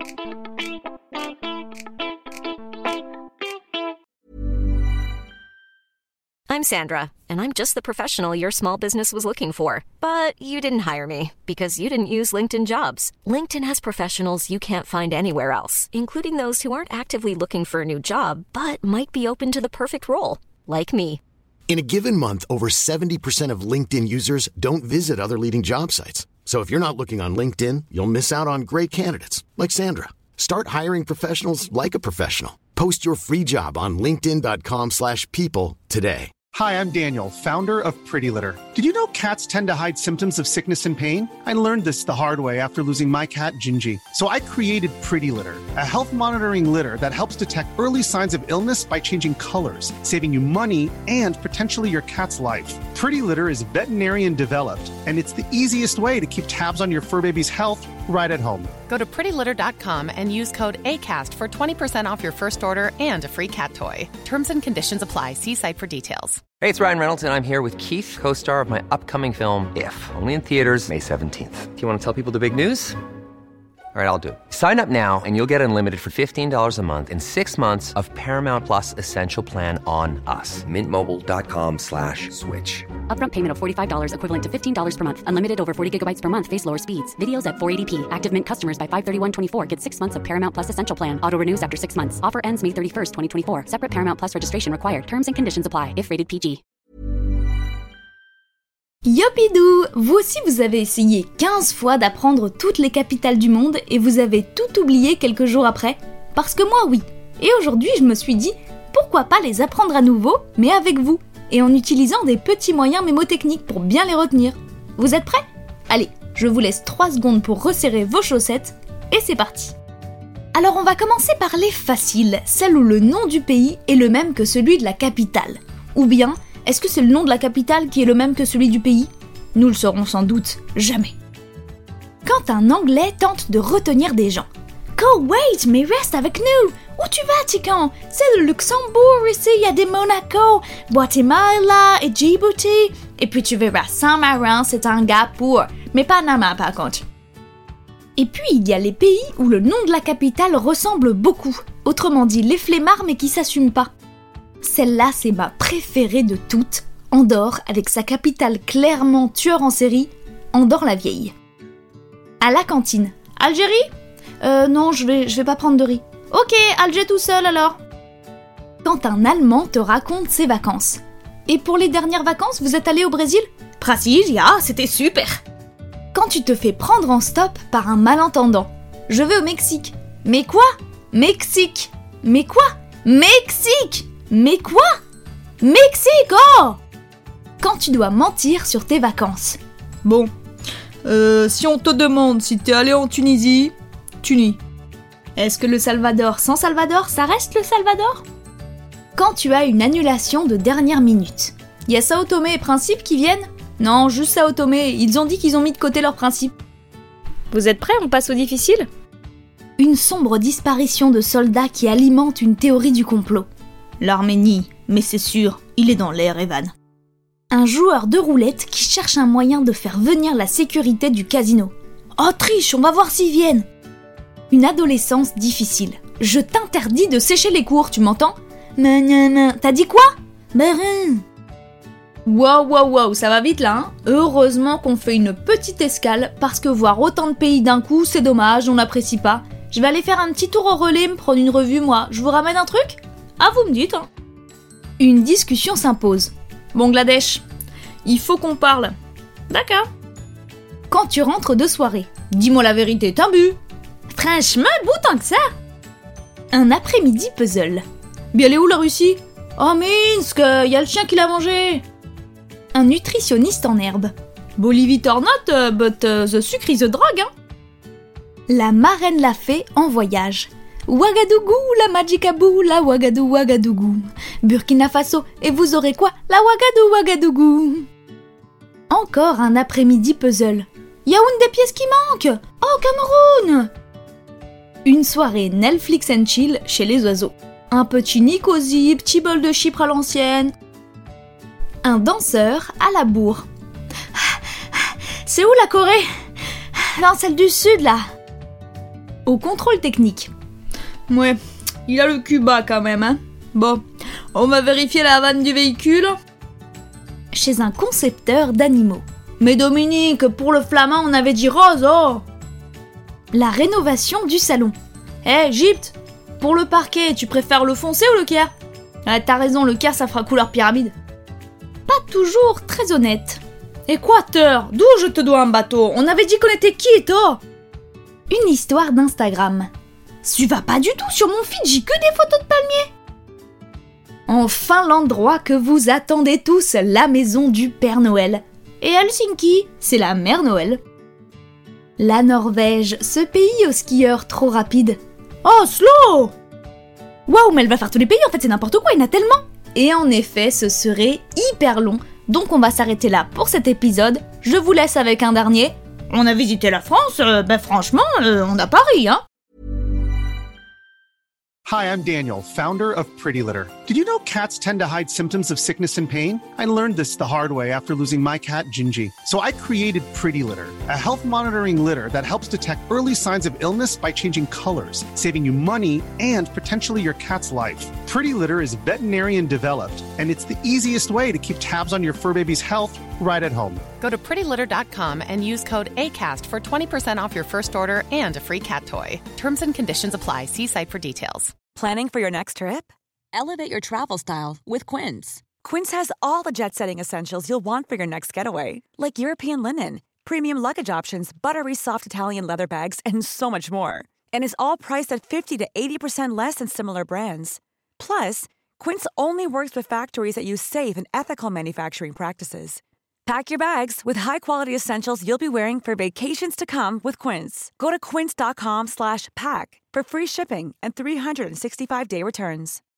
I'm Sandra, and I'm just the professional your small business was looking for. But you didn't hire me because you didn't use LinkedIn Jobs. LinkedIn has professionals you can't find anywhere else, including those who aren't actively looking for a new job, but might be open to the perfect role, like me. In a given month, over 70% of LinkedIn users don't visit other leading job sites. So if you're not looking on LinkedIn, you'll miss out on great candidates like Sandra. Start hiring professionals like a professional. Post your free job on linkedin.com/people today. Hi, I'm Daniel, founder of Pretty Litter. Did you know cats tend to hide symptoms of sickness and pain? I learned this the hard way after losing my cat, Gingy. So I created Pretty Litter, a health monitoring litter that helps detect early signs of illness by changing colors, saving you money and potentially your cat's life. Pretty Litter is veterinarian developed, and it's the easiest way to keep tabs on your fur baby's health right at home. Go to prettylitter.com and use code ACAST for 20% off your first order and a free cat toy. Terms and conditions apply. See site for details. Hey, it's Ryan Reynolds, and I'm here with Keith, co-star of my upcoming film, If, only in theaters May 17th. Do you want to tell people the big news? All right, I'll do it. Sign up now and you'll get unlimited for $15 a month and 6 months of Paramount Plus Essential Plan on us. MintMobile.com/switch. Upfront payment of $45 equivalent to $15 per month. Unlimited over 40 gigabytes per month. Face lower speeds. Videos at 480p. Active Mint customers by 531.24 get 6 months of Paramount Plus Essential Plan. Auto renews after 6 months. Offer ends May 31st, 2024. Separate Paramount Plus registration required. Terms and conditions apply if rated PG. Yopidou! Vous aussi vous avez essayé 15 fois d'apprendre toutes les capitales du monde et vous avez tout oublié quelques jours après? Parce que moi oui. Et aujourd'hui je me suis dit, pourquoi pas les apprendre à nouveau, mais avec vous, et en utilisant des petits moyens mémotechniques pour bien les retenir. Vous êtes prêts? Allez, je vous laisse 3 secondes pour resserrer vos chaussettes, et c'est parti! Alors on va commencer par les faciles, celles où le nom du pays est le même que celui de la capitale. Ou bien, est-ce que c'est le nom de la capitale qui est le même que celui du pays? Nous le saurons sans doute jamais. Quand un Anglais tente de retenir des gens. Go, wait, mais reste avec nous! Où tu vas, Tican? C'est le Luxembourg ici, il y a des Monaco, Guatemala et Djibouti. Et puis tu verras, Saint-Marin, c'est un gars pour, mais Panama par contre. Et puis il y a les pays où le nom de la capitale ressemble beaucoup. Autrement dit, les flemmards mais qui s'assument pas. Celle-là, c'est ma préférée de toutes, Andorre, avec sa capitale clairement tueur en série, Andorre la Vieille. À la cantine. Algérie? Non, je vais pas prendre de riz. Ok, Alger tout seul alors. Quand un Allemand te raconte ses vacances. Et pour les dernières vacances, vous êtes allé au Brésil? Brasilia, c'était super. Quand tu te fais prendre en stop par un malentendant. Je vais au Mexique. Mais quoi? Mexique. Mais quoi? Mexique. Mais quoi? Mexique, oh! Quand tu dois mentir sur tes vacances. Bon, si on te demande si t'es allé en Tunisie, tu nies. Est-ce que le Salvador sans Salvador, ça reste le Salvador? Quand tu as une annulation de dernière minute. Y a Sao Tomé et Principe qui viennent? Non, juste Sao Tomé, ils ont dit qu'ils ont mis de côté leurs principes. Vous êtes prêts, on passe au difficile? Une sombre disparition de soldats qui alimente une théorie du complot. L'Arménie, mais c'est sûr, il est dans l'air, Evan. Un joueur de roulette qui cherche un moyen de faire venir la sécurité du casino. Oh triche, on va voir s'ils viennent. Une adolescence difficile. Je t'interdis de sécher les cours, tu m'entends? T'as dit quoi? Wow, ça va vite là, hein? Heureusement qu'on fait une petite escale, parce que voir autant de pays d'un coup, c'est dommage, on n'apprécie pas. Je vais aller faire un petit tour au relais, me prendre une revue, moi. Je vous ramène un truc? Ah, vous me dites, hein. Une discussion s'impose. Bangladesh, il faut qu'on parle. D'accord. Quand tu rentres de soirée, dis-moi la vérité, t'as bu? Franchement, bout tant que ça. Un après-midi puzzle. Bien, elle est où la Russie? Oh Minsk, y a le chien qui l'a mangé. Un nutritionniste en herbe. Bolivie or not, but the sucre is a drug, hein. La marraine l'a fait en voyage. Ouagadougou, la magicabou, la Ouagadou, Ouagadougou. Burkina Faso, et vous aurez quoi? La Ouagadou, Ouagadougou. Encore un après-midi puzzle. Y'a une des pièces qui manque? Oh, Cameroun! Une soirée Netflix and chill chez les oiseaux. Un petit Nicosie, petit bol de Chypre à l'ancienne. Un danseur à la bourre. C'est où la Corée? Non, celle du sud, là. au contrôle technique. Ouais, il a le cul bas quand même, hein. Bon, on va vérifier la vanne du véhicule. Chez un concepteur d'animaux. Mais Dominique, pour le flamand, on avait dit rose, oh. La rénovation du salon. Gypte, pour le parquet, tu préfères le foncé ou le caire? T'as raison, le caire ça fera couleur pyramide. Pas toujours très honnête. Équateur, d'où je te dois un bateau? On avait dit qu'on était quitte, oh. Une histoire d'Instagram. Tu vas pas du tout sur mon feed, j'ai que des photos de palmiers. Enfin l'endroit que vous attendez tous, la maison du Père Noël. Et Helsinki, c'est la Mère Noël. La Norvège, ce pays aux skieurs trop rapides. Oslo! Waouh, mais elle va faire tous les pays, en fait c'est n'importe quoi, il y en a tellement. Et en effet, ce serait hyper long, donc on va s'arrêter là pour cet épisode. Je vous laisse avec un dernier. On a visité la France, franchement, on a Paris, hein. Hi, I'm Daniel, founder of Pretty Litter. Did you know cats tend to hide symptoms of sickness and pain? I learned this the hard way after losing my cat, Gingy. So I created Pretty Litter, a health monitoring litter that helps detect early signs of illness by changing colors, saving you money and potentially your cat's life. Pretty Litter is veterinarian developed, and it's the easiest way to keep tabs on your fur baby's health right at home. Go to prettylitter.com and use code ACAST for 20% off your first order and a free cat toy. Terms and conditions apply. See site for details. Planning for your next trip? Elevate your travel style with Quince. Quince has all the jet-setting essentials you'll want for your next getaway, like European linen, premium luggage options, buttery soft Italian leather bags, and so much more. And is all priced at 50 to 80% less than similar brands. Plus, Quince only works with factories that use safe and ethical manufacturing practices. Pack your bags with high-quality essentials you'll be wearing for vacations to come with Quince. Go to quince.com/pack for free shipping and 365-day returns.